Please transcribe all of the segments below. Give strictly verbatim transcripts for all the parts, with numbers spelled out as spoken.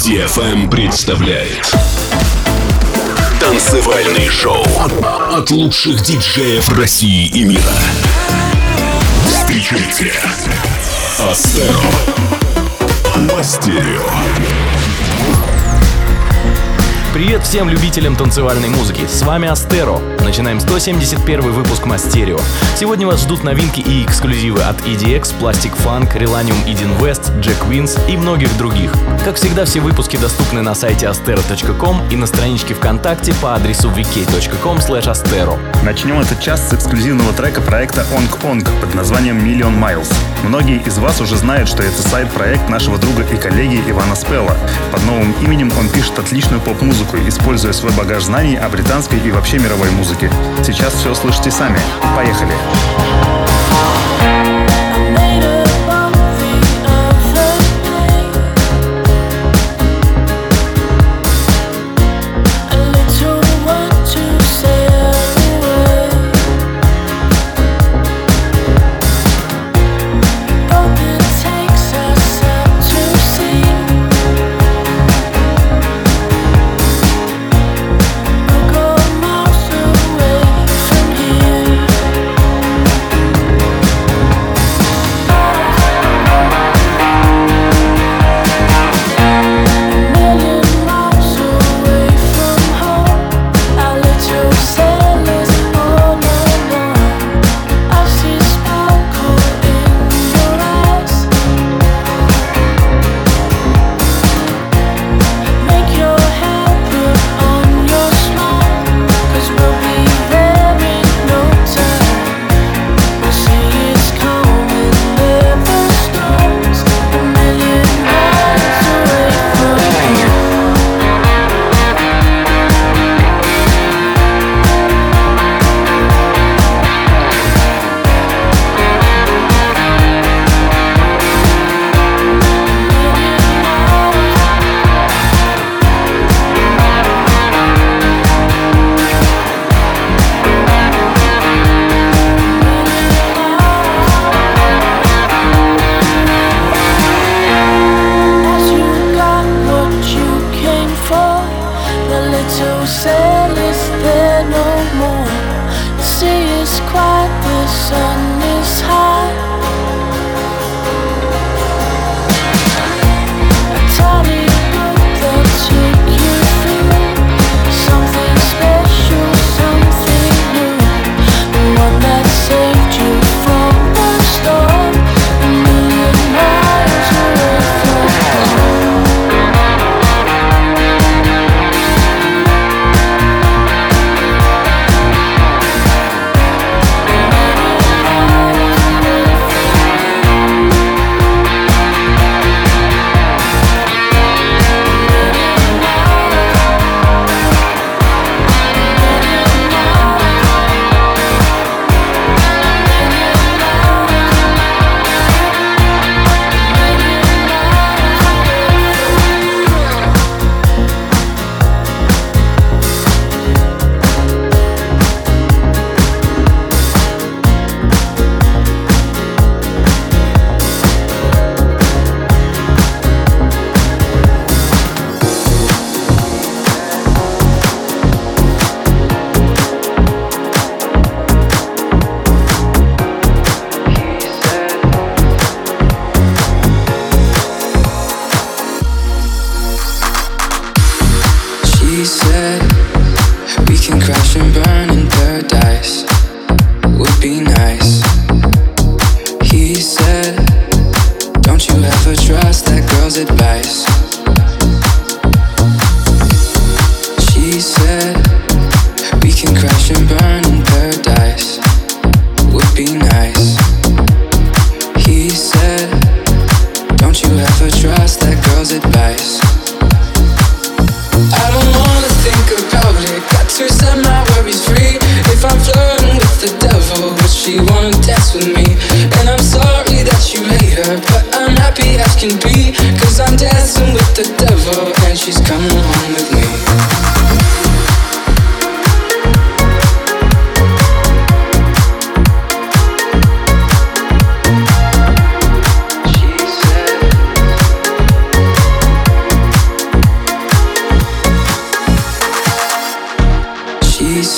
ди эф эм представляет танцевальный шоу от лучших диджеев России и мира. Встречайте Астеро по стерео. Привет всем любителям танцевальной музыки, с вами Астеро. Начинаем сто семьдесят первый выпуск Мастерио. Сегодня вас ждут новинки и эксклюзивы от и ди экс, Plastic Funk, Relanium Eden West, Jack Wins и многих других. Как всегда, все выпуски доступны на сайте astero точка ком и на страничке ВКонтакте по адресу ви кей точка ком слэш astero. Начнем этот час с эксклюзивного трека проекта Onk Onk под названием Million Miles. Многие из вас уже знают, что это сайд-проект нашего друга и коллеги Ивана Спелла. Под новым именем он пишет отличную поп-музыку, используя свой багаж знаний о британской и вообще мировой музыке. Сейчас все слышите сами. Поехали!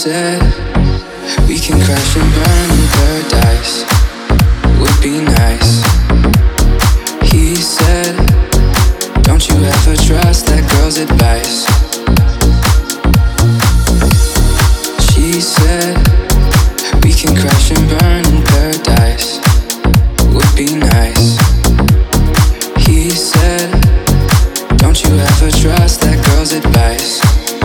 said we can crash and burn in paradise. Would be nice. He said, don't you ever trust that girl's advice. She said, we can crash and burn in paradise. Would be nice. He said, don't you ever trust that girl's advice.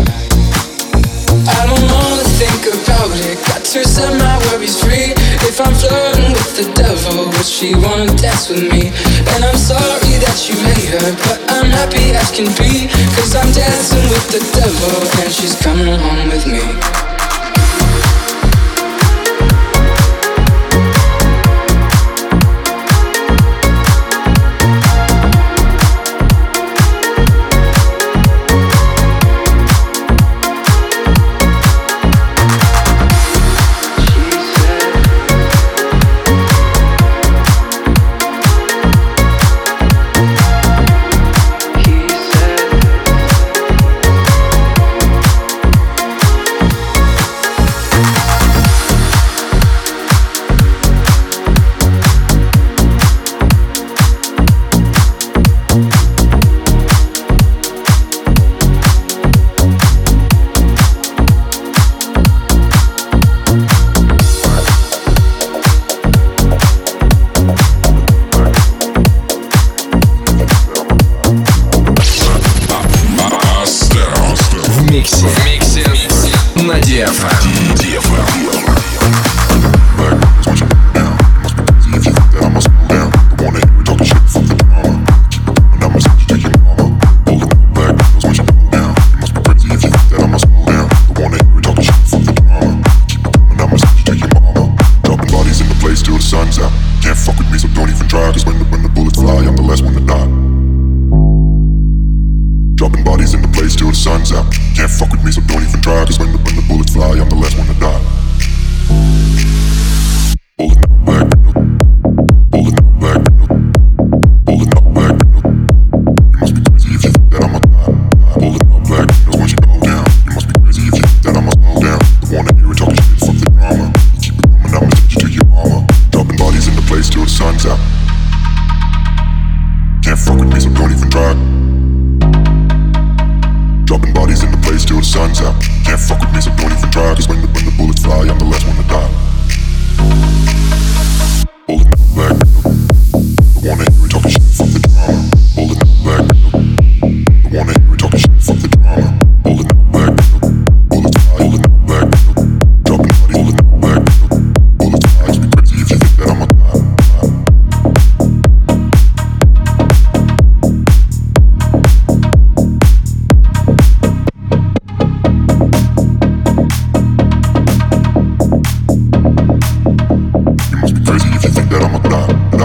I don't wanna think about it. Got to set my worries free. If I'm flirting with the devil, would she wanna dance with me? And I'm sorry that you made her, but I'm happy as can be. Cause I'm dancing with the devil and she's coming home with me. Crazy if you think that I'm a god.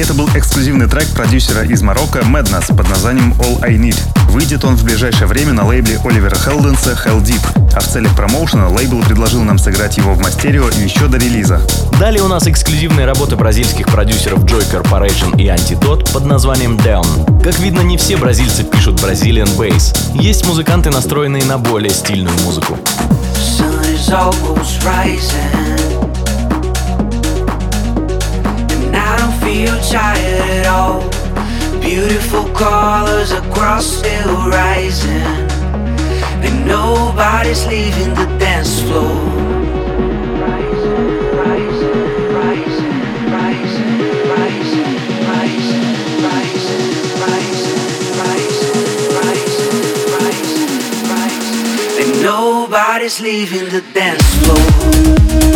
Это был эксклюзивный трек продюсера из Марокко Madness под названием All I Need. Выйдет он в ближайшее время на лейбле Оливера Хелденса Hell Deep. А в целях промоушена лейбл предложил нам сыграть его в мастерио еще до релиза. Далее у нас эксклюзивные работы бразильских продюсеров Joy Corporation и Antidote под названием Down. Как видно, не все бразильцы пишут Brazilian Bass. Есть музыканты, настроенные на более стильную музыку. Feel tired at all. Beautiful colors across still rising, and nobody's leaving the dance floor. Rising, rising, rising, rising, rising, rising, rising, rising, rising, rising, rising, and nobody's leaving the dance floor.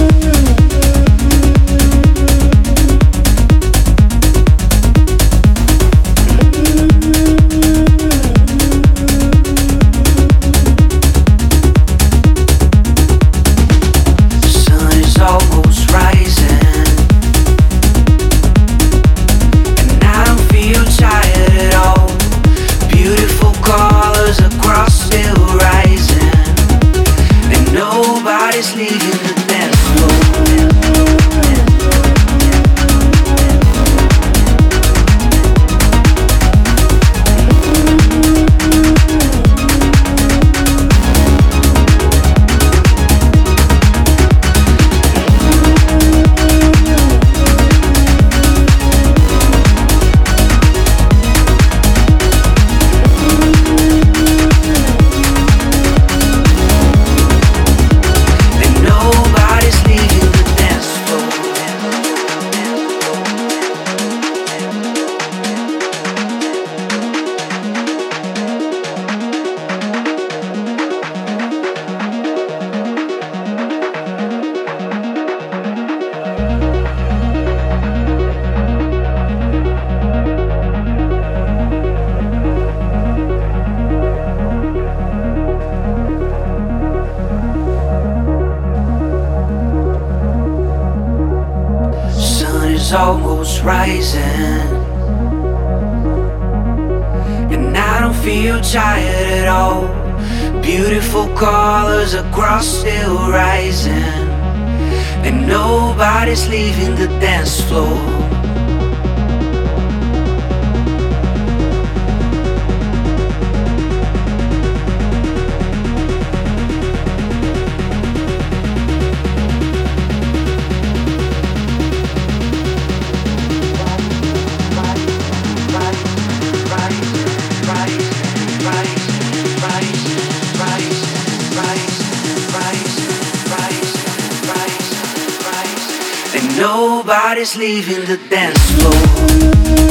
Almost rising, and I don't feel tired at all. Beautiful colors across still rising, and nobody's leaving the dance floor. Nobody's leaving the dance floor.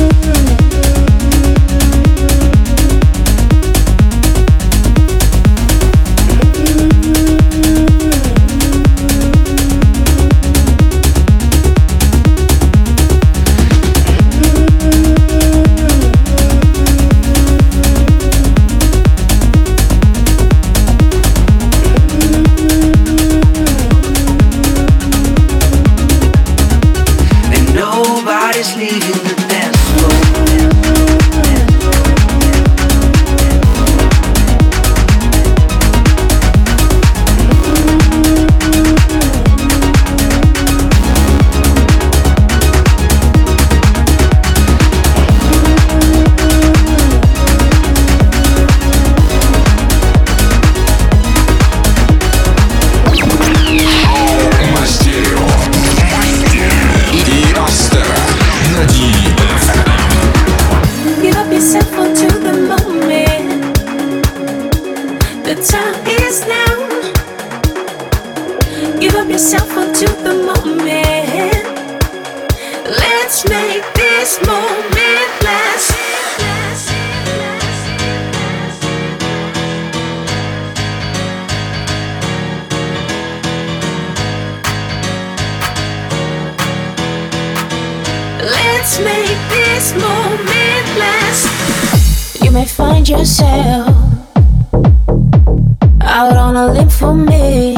Let's make this moment last. You may find yourself out on a limb for me.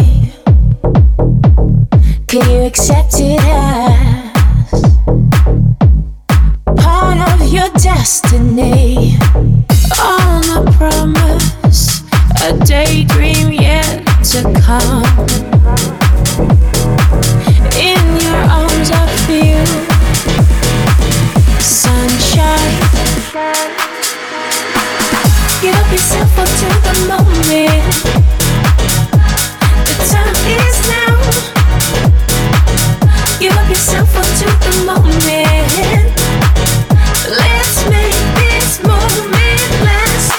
Can you accept it as destiny, on a promise, a daydream yet to come. In your arms I feel sunshine. Give up yourself up to the moment. The time is now. Give up yourself up to the moment. Let's make this moment last.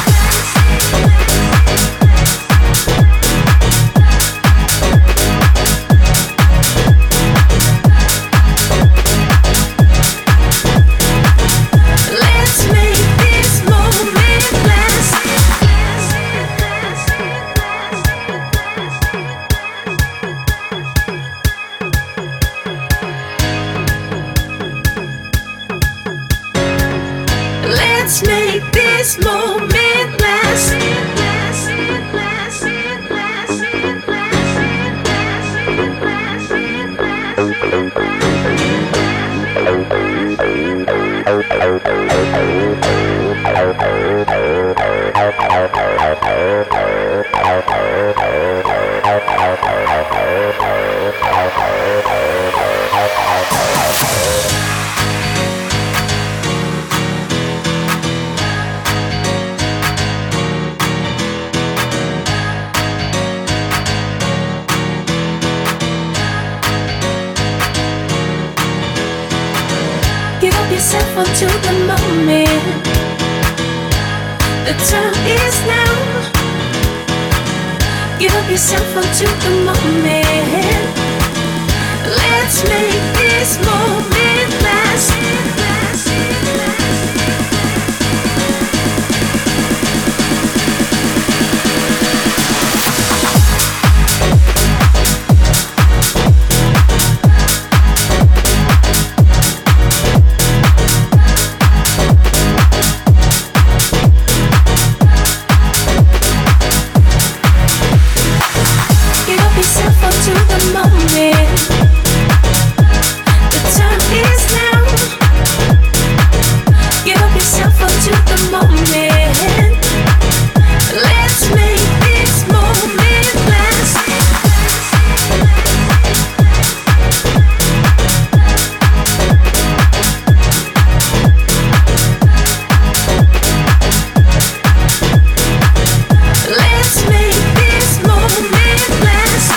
Let's make this moment last. Let's make this moment last. Give up yourself unto the moment. The time is now. Give up yourself unto the moment. Let's make this moment last. Give up yourself unto the moment. The time is now. Give up yourself unto the moment. Let's make this moment last. Let's make this moment last.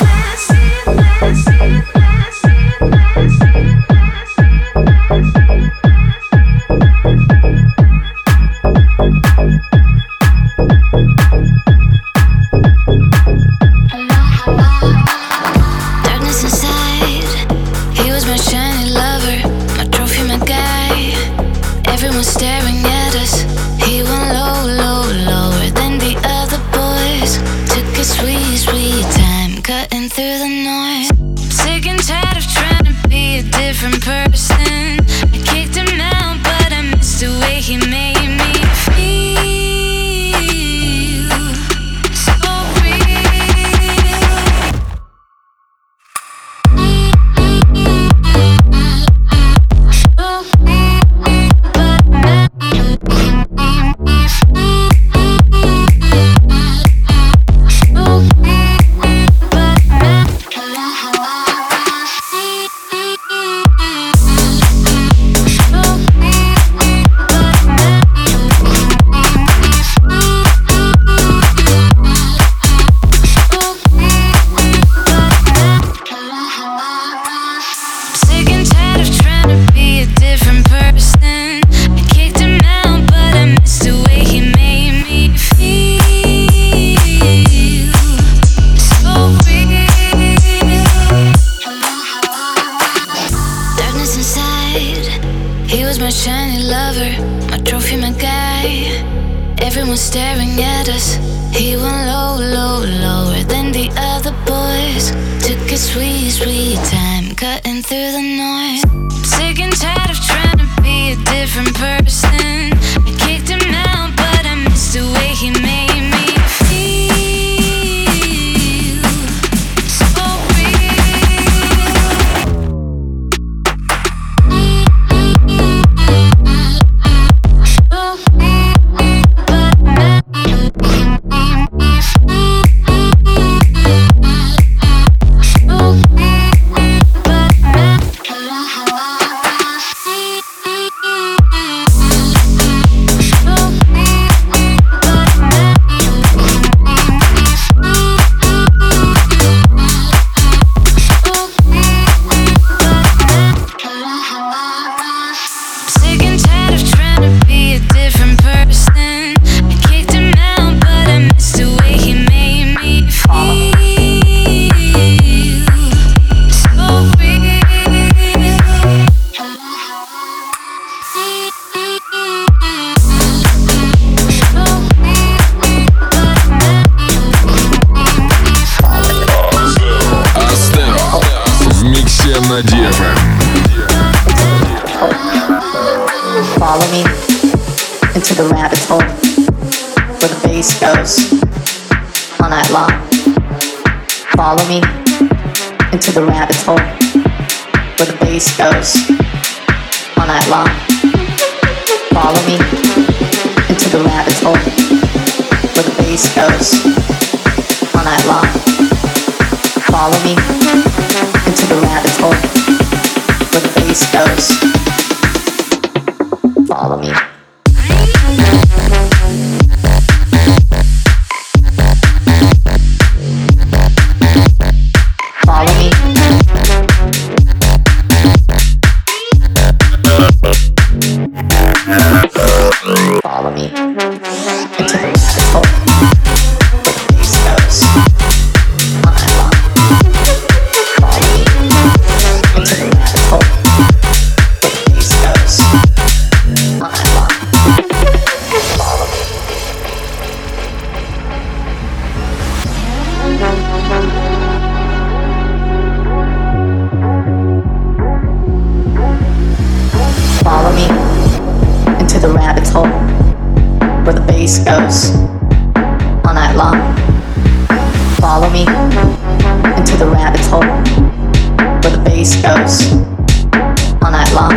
Darkness inside. He was my shiny lover, my trophy, my guy. Everyone staring at us. He went low, low, lower than the other boys. Took his sweet, sweet time, cutting through the noise. Sick and tired of trying to be a different person. I kicked him out, but I missed the way he made me feel. So real. Sick and tired of trying to be a different person. I kicked him out, but I missed the way he made me feel. So real. Darkness inside. He was my shiny lover, my trophy, my guy. Everyone staring at us. He went low, low, lower than the other boys. Took his sweet, sweet time, cutting through the noise. Sick and tired of trying to be a different person. I kicked him out, but I missed the way he made me feel. So real. Follow me into the rabbit hole where the bass goes all night long. Follow me into the rabbit hole where the bass goes all night long. Follow me into the rabbit hole where the bass goes all night long. Follow me into the rabbit hole where the bass goes. Follow me. Follow me. Follow me into the rabbit hole where the bass goes all night long. Follow me into the rabbit hole where the bass goes all night long. Follow me. Follow me into the rabbit hole where the bass goes all night long. Follow me into the rabbit hole where the bass goes all night long.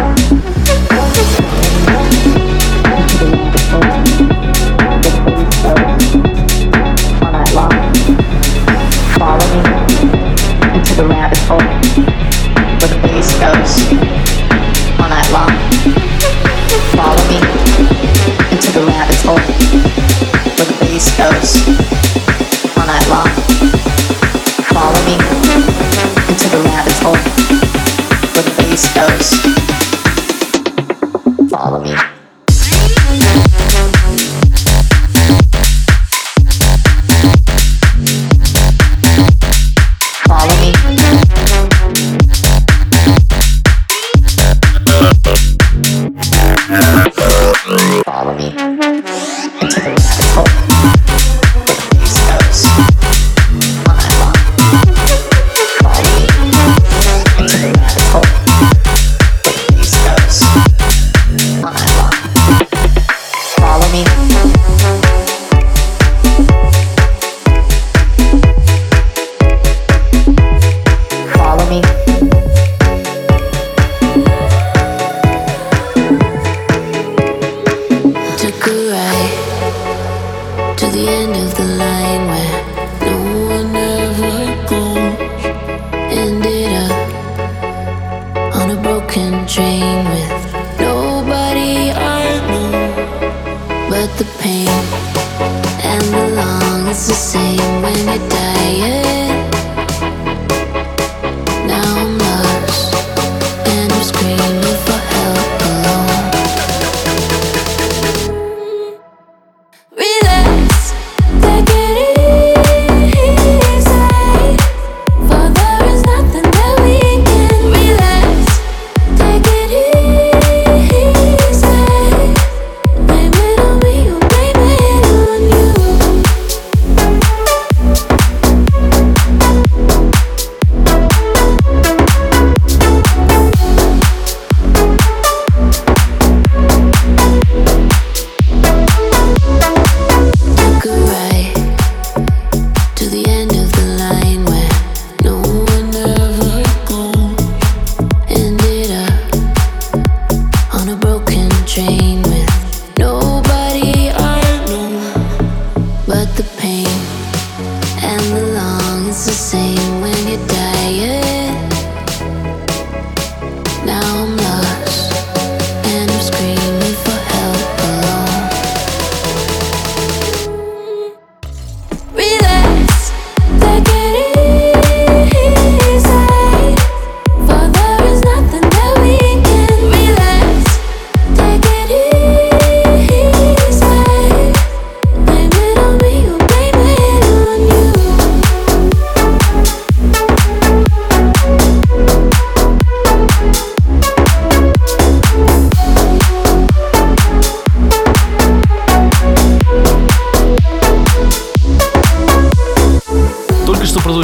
Into the rabbit hole where the bass goes all night long. Follow me into the rabbit hole where the bass goes all night long. Follow me into the rabbit hole where the bass goes all night long. Follow me into the rabbit hole where the bass goes. Follow me. Follow me. Follow me into the rabbit hole where the bass goes all night long. Follow me into the rabbit hole where the bass goes all night long.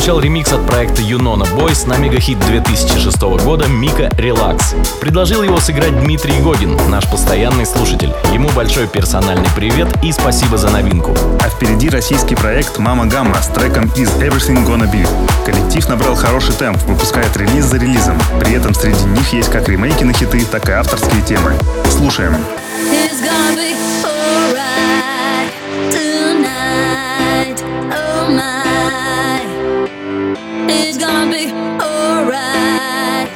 прозвучал ремикс от проекта Юнона Boys на мегахит две тысячи шестого года Мика «Релакс». Предложил его сыграть Дмитрий Гогин, наш постоянный слушатель. Ему большой персональный привет и спасибо за новинку. А впереди российский проект «Мама Гамма» с треком «Is Everything Gonna Be». Коллектив набрал хороший темп, выпускает релиз за релизом. При этом среди них есть как ремейки на хиты, так и авторские темы. Слушаем. It's gonna be alright tonight. Oh my, it's gonna be alright.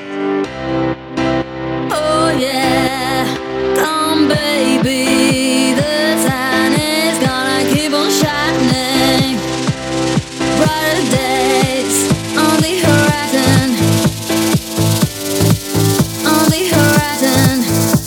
Oh yeah, come baby, the sun is gonna keep on shining. Brighter days on the horizon, on the horizon.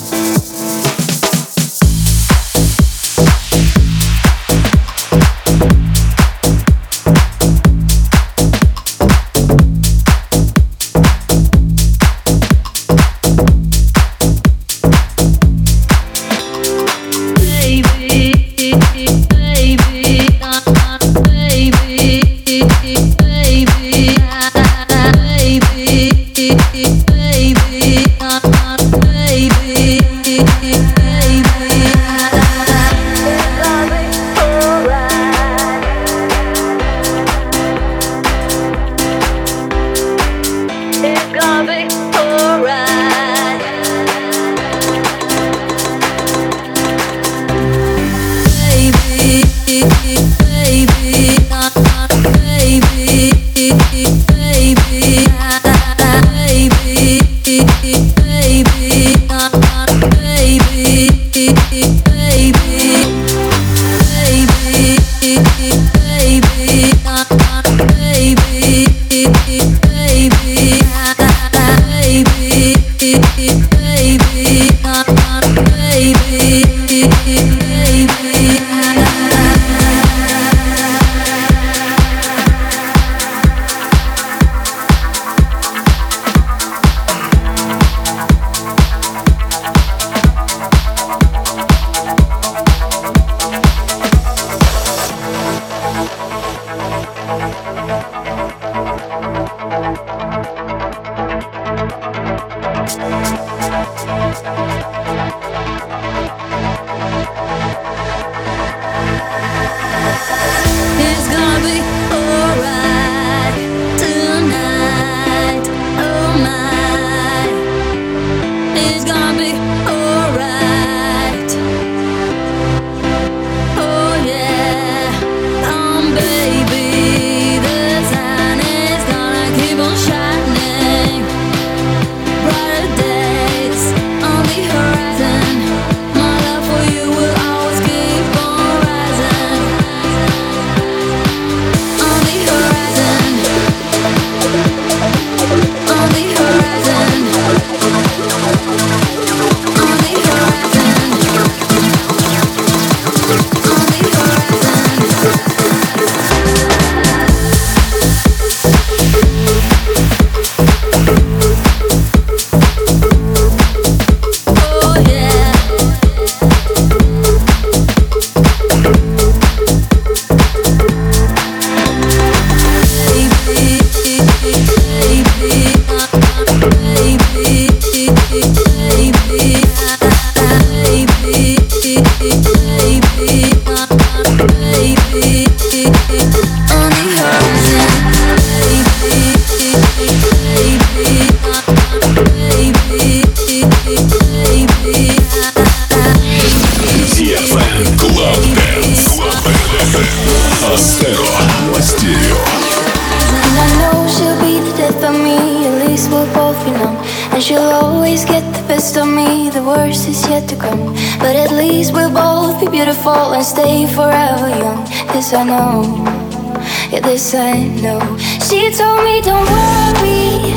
Stay forever young. This I know, yeah, this I know. She told me don't worry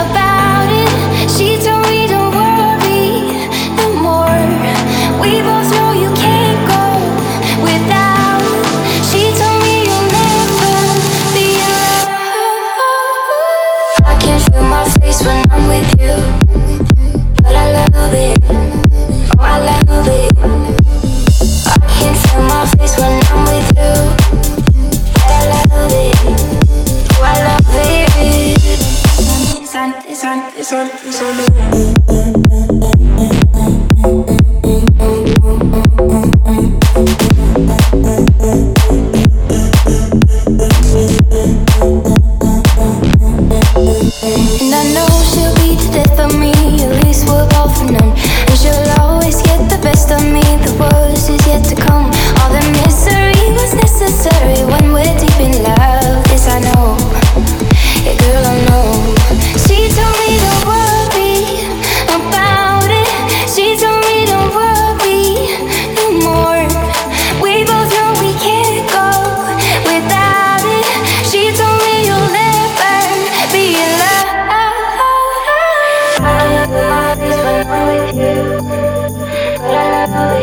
about it. She told me don't worry no more. We both know you can't go without. She told me you'll never be alone. I can't feel my face when I'm with you, but I love it. Oh, I love it. Can't feel my face when I'm with you, but I love it.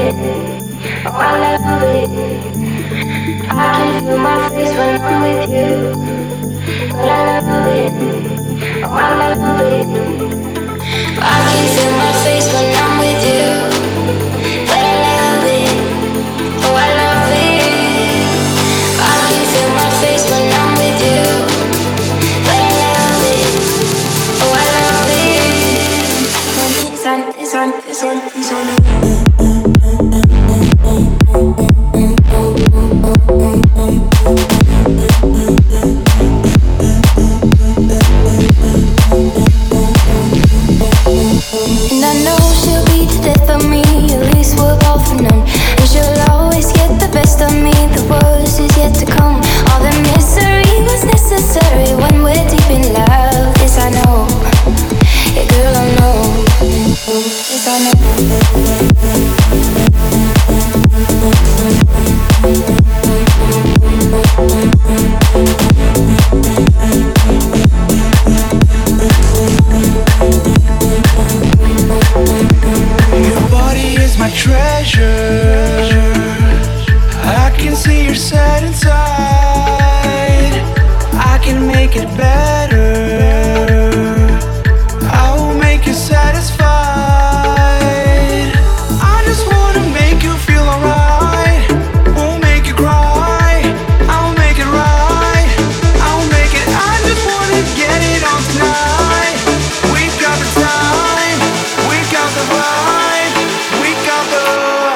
it. Oh, I love it. I can feel my face when I'm with you. But I love it. Oh, I love it. I can feel my face when I'm with you. But I love it. Oh, I love it. I can feel my face when I'm with you. But I love it. Oh, I love it. This on, this on, this on, this on. And I know she'll be the death of me, at least we're both known. And she'll always get the best of me, the worst is yet to come. All the misery was necessary when we're deep in love. This I know, yeah girl I know. This I know. Your body is my treasure. I can see you're sad inside. I can make it better. I will make you satisfied. I just wanna make you feel alright. Won't make you cry. I'll make it right. I'll make it. I just wanna get it on tonight. We got the time. We got the vibe. We got the.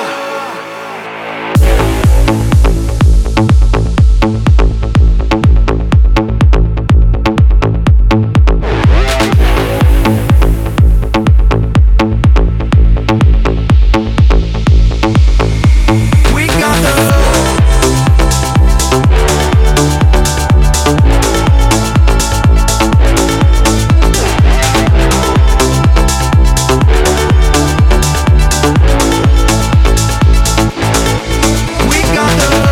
We got the. We got the.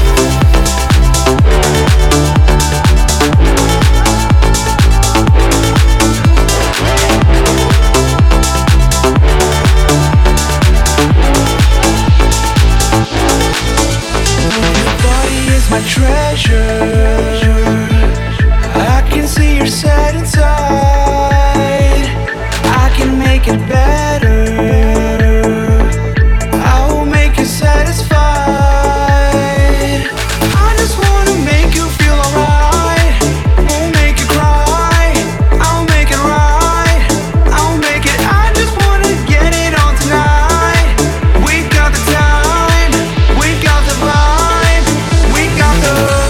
Your body is my treasure. I can see you're sad inside. I can make it better. I will make you satisfied. I just wanna make you feel alright. Won't make you cry. I'll make it right. I'll make it. I just wanna get it on tonight. We got the time. We got the vibe. We got the.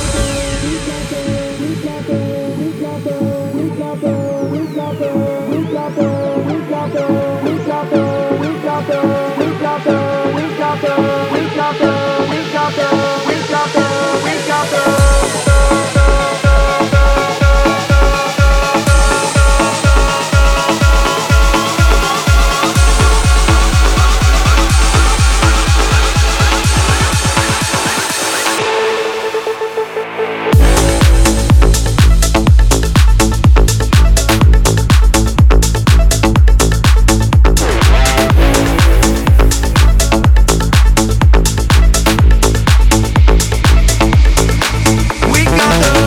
We got the.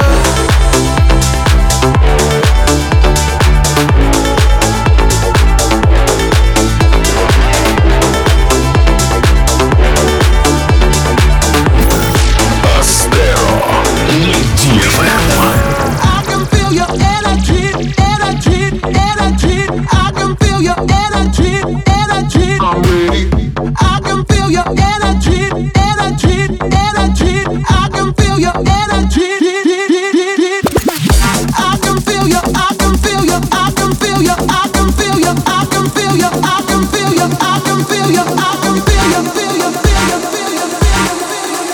Астеро на ди эф эм. I can feel your energy, energy, energy. I can feel your energy, energy. I'm ready. I can feel your energy, energy, energy. I can feel your energy. I can feel your, I can feel your, I can feel your, I can feel your, I can feel your, I can feel your, I can feel your, I can feel your, feel your, feel your, feel your, feel your.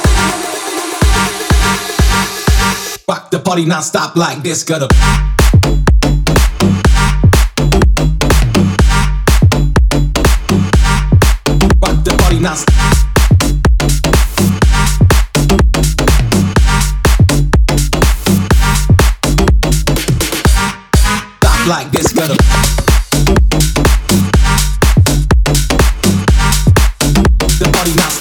Rock the party non-stop like this, gonna. Rock the party non-stop. Stop like this, gonna. the party now.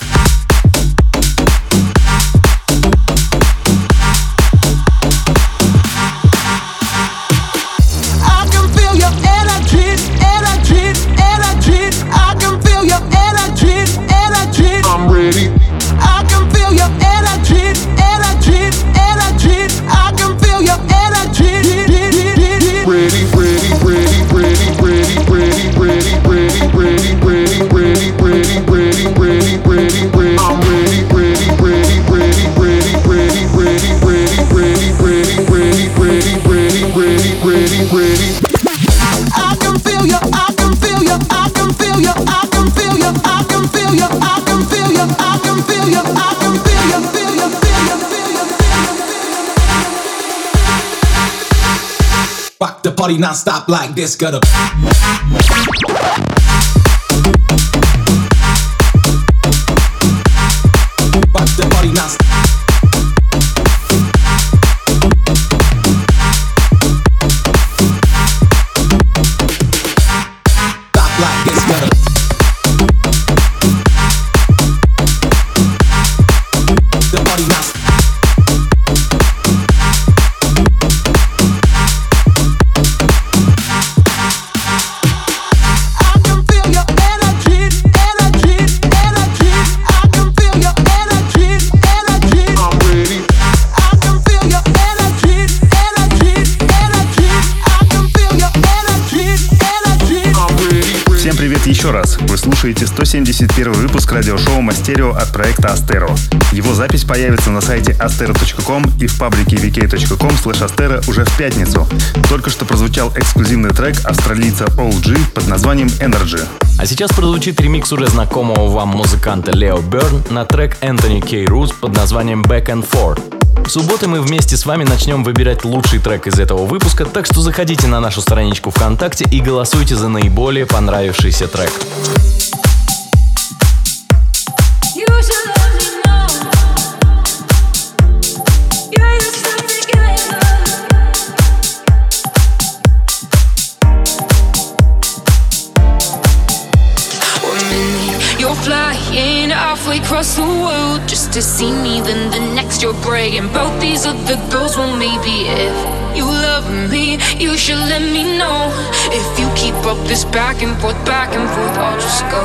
I can feel your energy, energy, energy. I can feel your energy, energy. I'm ready. I can feel your energy, energy, energy. I can feel your energy. Ready, ready, ready, ready, ready, ready, ready, ready, ready, ready, ready, ready, ready, ready, ready, ready. I'm ready, ready, ready, ready, ready, ready, ready, ready, ready, ready, ready, ready, ready, ready, ready, ready. I can feel you, I can feel you, I can feel you, I can feel you, I can feel you, I can feel you, I can feel you, I can feel you, feel you, feel you, feel you, feel you. Rock the party non-stop like this, gotta. Rock the party non-stop. Stop like this, gotta. The party non-stop. Еще раз, вы слушаете сто семьдесят первый выпуск радиошоу Мастерио от проекта Astéro. Его запись появится на сайте astero точка ком и в паблике ви кей точка ком слэш astero уже в пятницу. Только что прозвучал эксклюзивный трек австралийца о джи под названием Energy. А сейчас прозвучит ремикс уже знакомого вам музыканта Лео Берн на трек Энтони Кей Рус под названием Back and Forth. В субботу мы вместе с вами начнем выбирать лучший трек из этого выпуска, так что заходите на нашу страничку ВКонтакте и голосуйте за наиболее понравившийся трек. Flying halfway across the world just to see me, then the next you're bragging about these other girls. Well, maybe if you love me, you should let me know. If you keep up this back and forth, back and forth, I'll just go.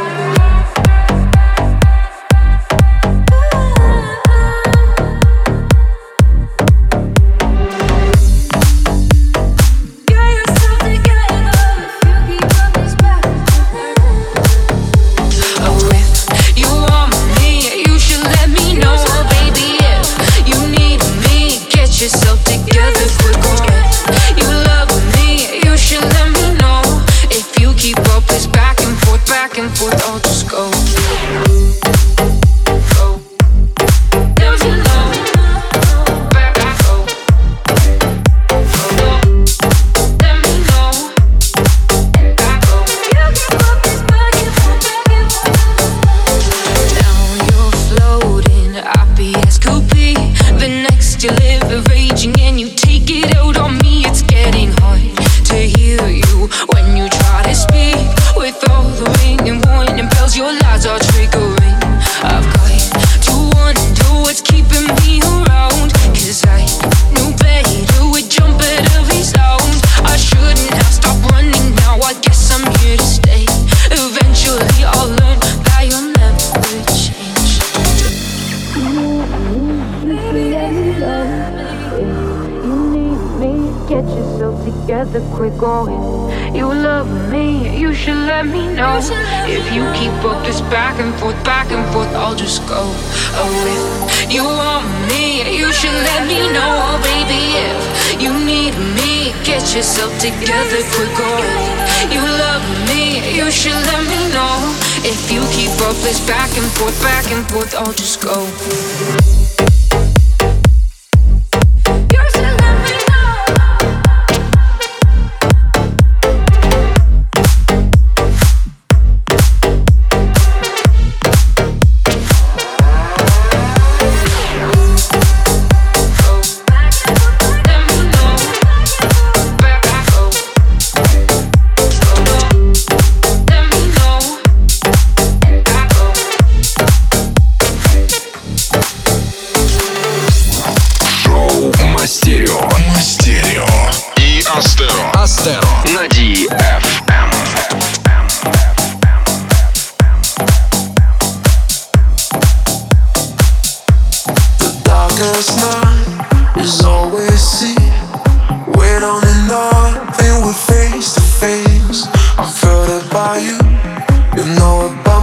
If you keep up this back and forth, back and forth, I'll just go. Oh, if you want me, you should let me know. Oh, baby, if you need me, get yourself together quick. Oh, if you love me, you should let me know. If you keep up this back and forth, back and forth, I'll just go.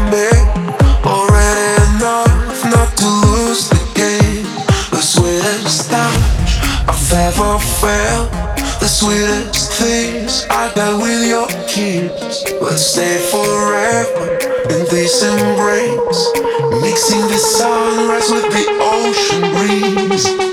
me already enough not to lose the game. The sweetest touch I've ever felt, the sweetest things I got with your kiss. Let's stay forever in this embrace, mixing the sunrise with the ocean breeze.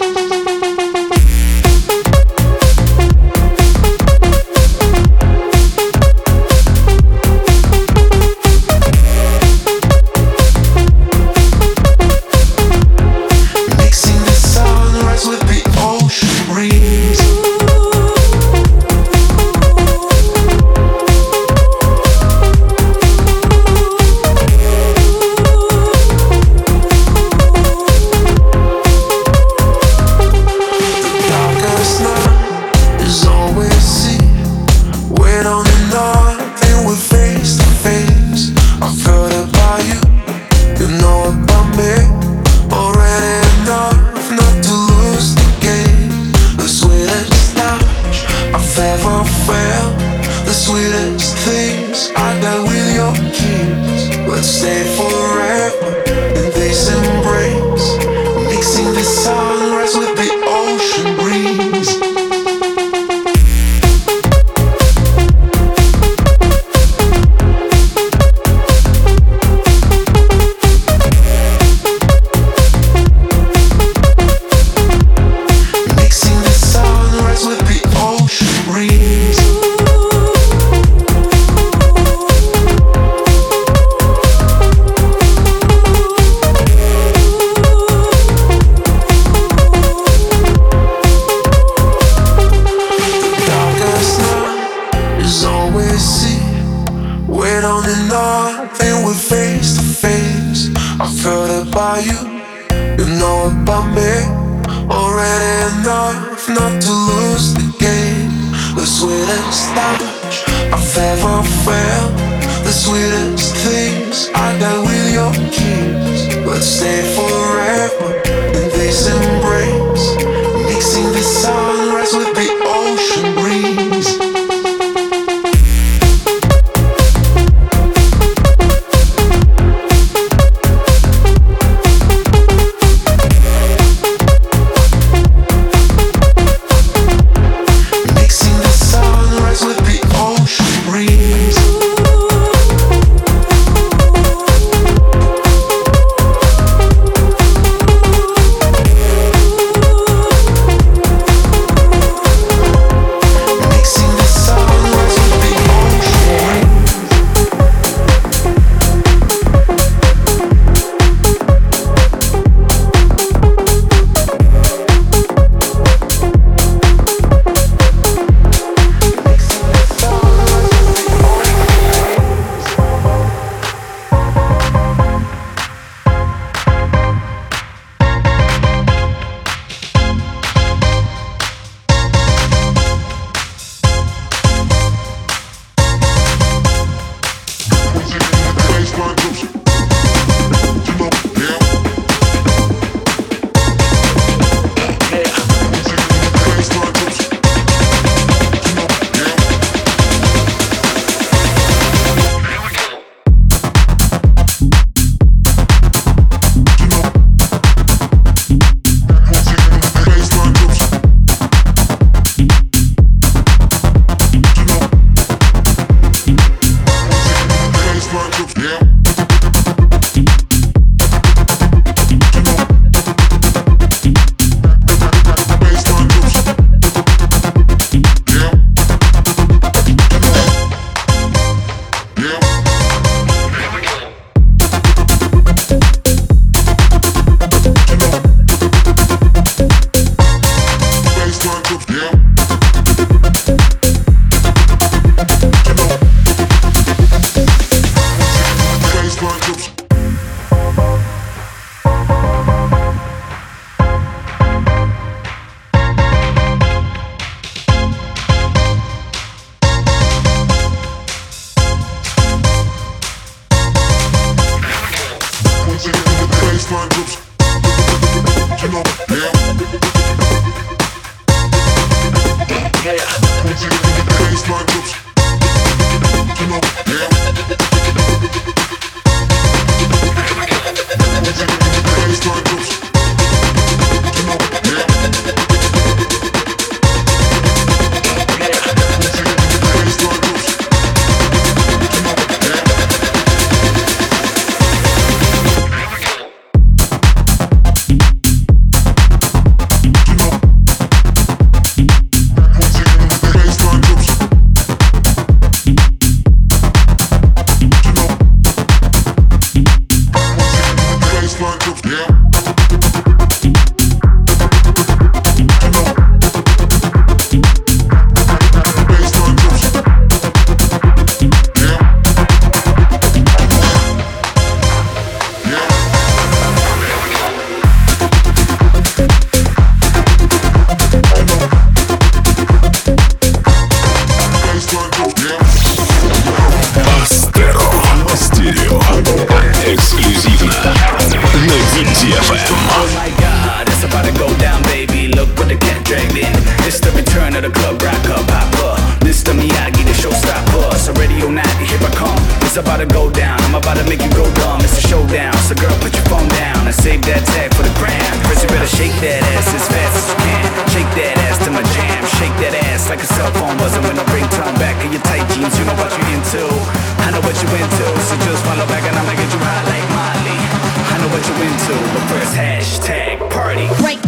Эксклюзивно на Дипти эф эм. Oh my God, it's about to go down, baby. Look what the cat dragged in. It's the return of the club rocker, Papa. Mister Miyagi, the showstopper. So radio night, here I come. It's about to go down. I'm about to make you go dumb. It's a showdown. So girl, put your phone down and save that tag for the gram. First you better shake that ass as fast as you can. Shake that ass to my jam. Shake that ass like a cell phone buzzing with no ringtone. Back in your tight jeans, you know what you into. I know what you into. So just follow back and I'ma get you high like Molly. I know what you into. But first hashtag party. Break.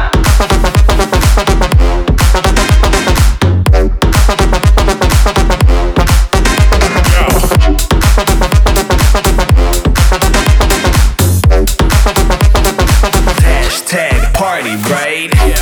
Hashtag party, right? Yeah.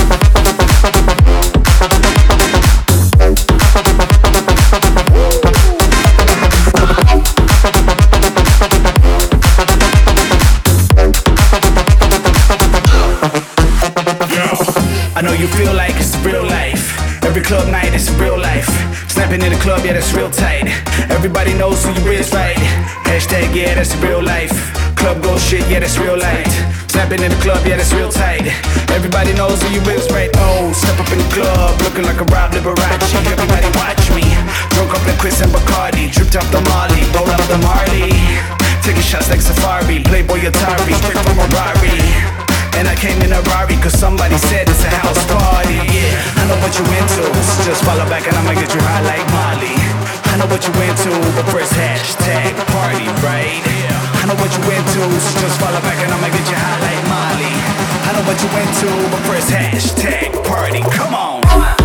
I know you feel like it's real life. Every club night is real life. Snapping in the club, yeah, that's real tight. Everybody knows who you is, right? Hashtag, yeah, that's real life. Club go shit, yeah, that's real light. Snapping in the club, yeah, that's real tight. Everybody knows who you is, right? Oh, step up in the club, looking like a Rob Liberace. Everybody watch me. Drunk up like Chris and Bacardi. Dripped off the Molly, roll out the Marley. Taking shots like Safari, Playboy Atari, straight from a Rari. And I came in a Rari cause somebody said it's a house party, yeah. I know what you into, so just follow back and I'ma get you high like Molly. I know what you into, but first hashtag party, right? Yeah. I know what you into, so just follow back and I'ma get you high like Molly. I know what you into, but first hashtag party, come on.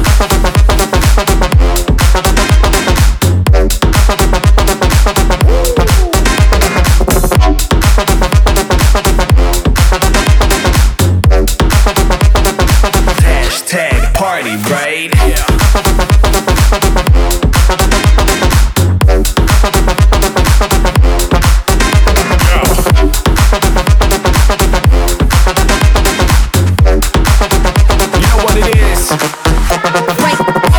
Party, right? Yeah. You know what it is? Right.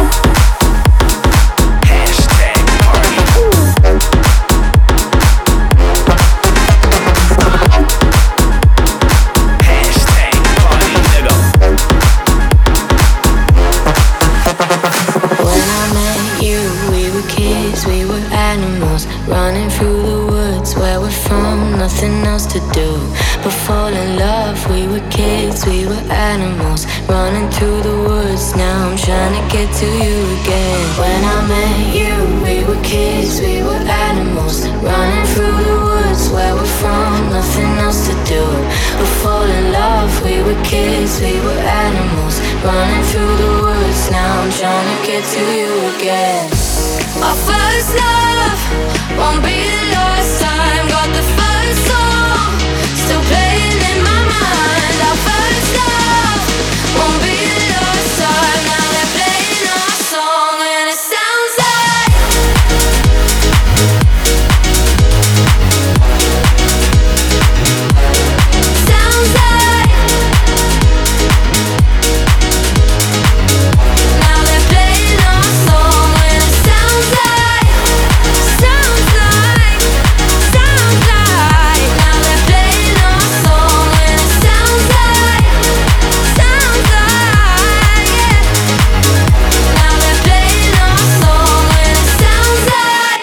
Hashtag party. Hashtag party, nigga. We were animals running through the woods where we're from, nothing else to do but fall in love. We were kids, we were animals running through the woods. Now I'm trying to get to you again. When I met you, we were kids, we were animals running through the woods where we're from, nothing else to do but fall in love. We were kids, we were animals running through the woods. Now I'm trying to get to you again. Our first love won't be the last time. Got the first song still playing in my mind. Our first love won't be the last time. Now they're playing our song and it sounds like sounds like now they're playing our song and it sounds like sounds like sounds like now they're playing our song and it sounds like sounds like yeah now they're playing our song and it sounds like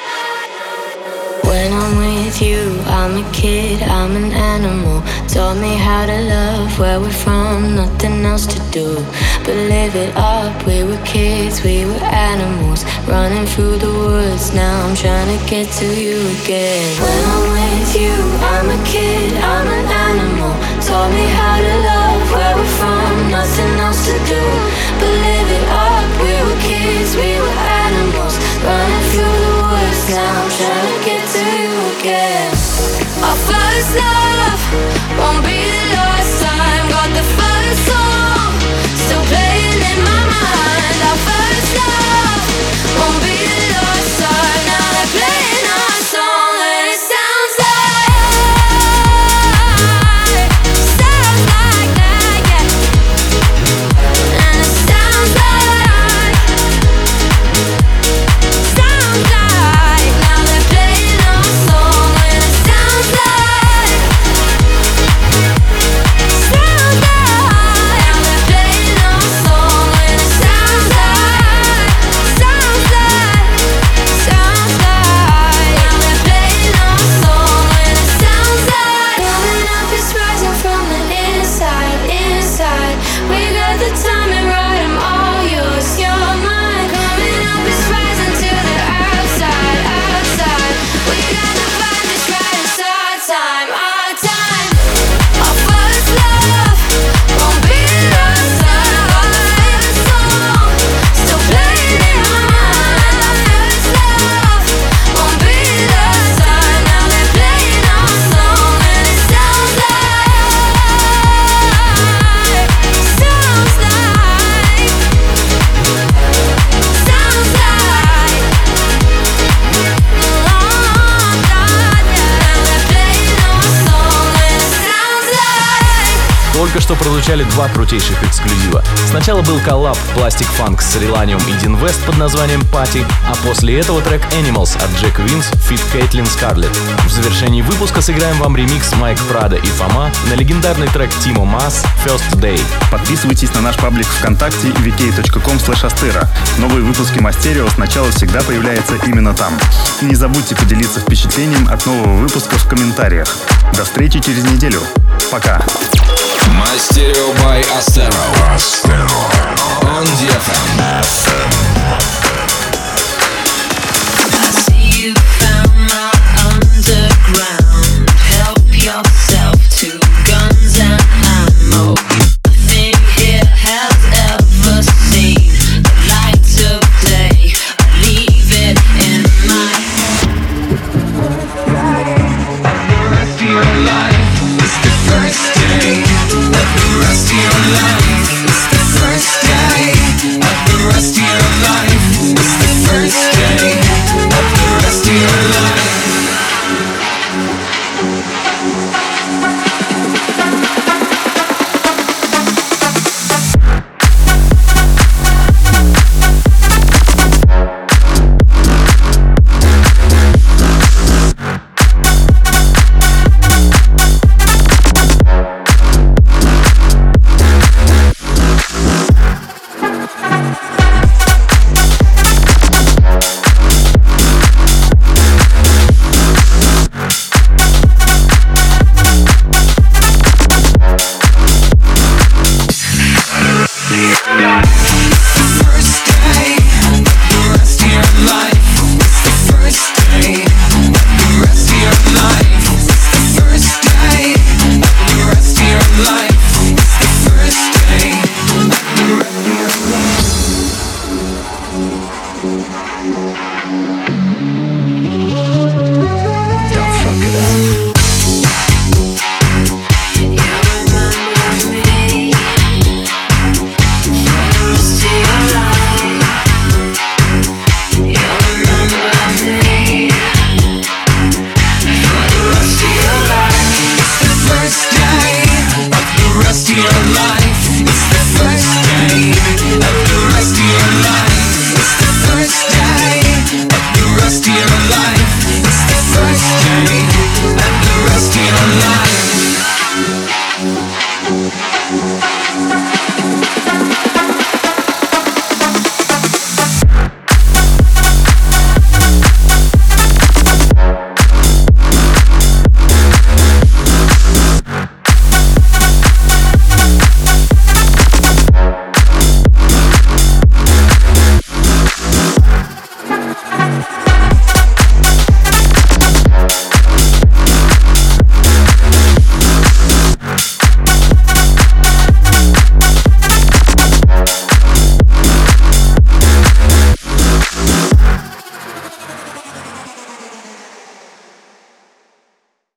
when I'm with you, I'm a kid, I'm an animal. Taught me how to love where we're from, nothing else to do but live it up. We were kids, we were animals running through the woods. Now I'm trying to get to you again. When I'm with you, I'm a kid, I'm an animal. Taught me how to love where we're from, nothing else to do but live it up. We were kids, we were animals running through the woods. Now I'm trying to get to you again. our first love won't be the last time. Got the first song still playing in my mind. Our first love won't be the last time. Now they're playing our song and it sounds like sounds like that, yeah. And it sounds like sounds like now they're playing our song. только что прозвучали два крутейших эксклюзива. Сначала был коллаб Plastic Funk с Relanium и Dean West под названием Party, а после этого трек Animals от Джек Винс feat. Кейтлин Скарлетт. В завершении выпуска сыграем вам ремикс Майк Прадо и Фома на легендарный трек Тимо Мас First Day. Подписывайтесь на наш паблик ВКонтакте ви кей точка ком слэш астера. Новые выпуски Мастерио сначала всегда появляются именно там. И не забудьте поделиться впечатлением от нового выпуска в комментариях. До встречи через неделю. Пока. Мастерио by Astero. On ди эф эм.